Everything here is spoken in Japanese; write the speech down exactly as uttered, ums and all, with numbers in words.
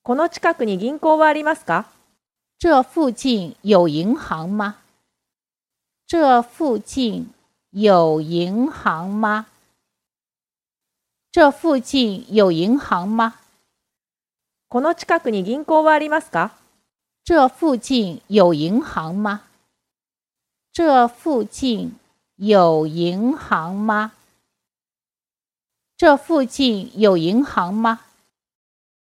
この近くに銀行はありますか？ 这附近有银行吗？这附近有银行吗？这附近有银行吗？ この近くに銀行はありますか？ 这附近有银行吗？这附近有银行吗？这附近有银行吗？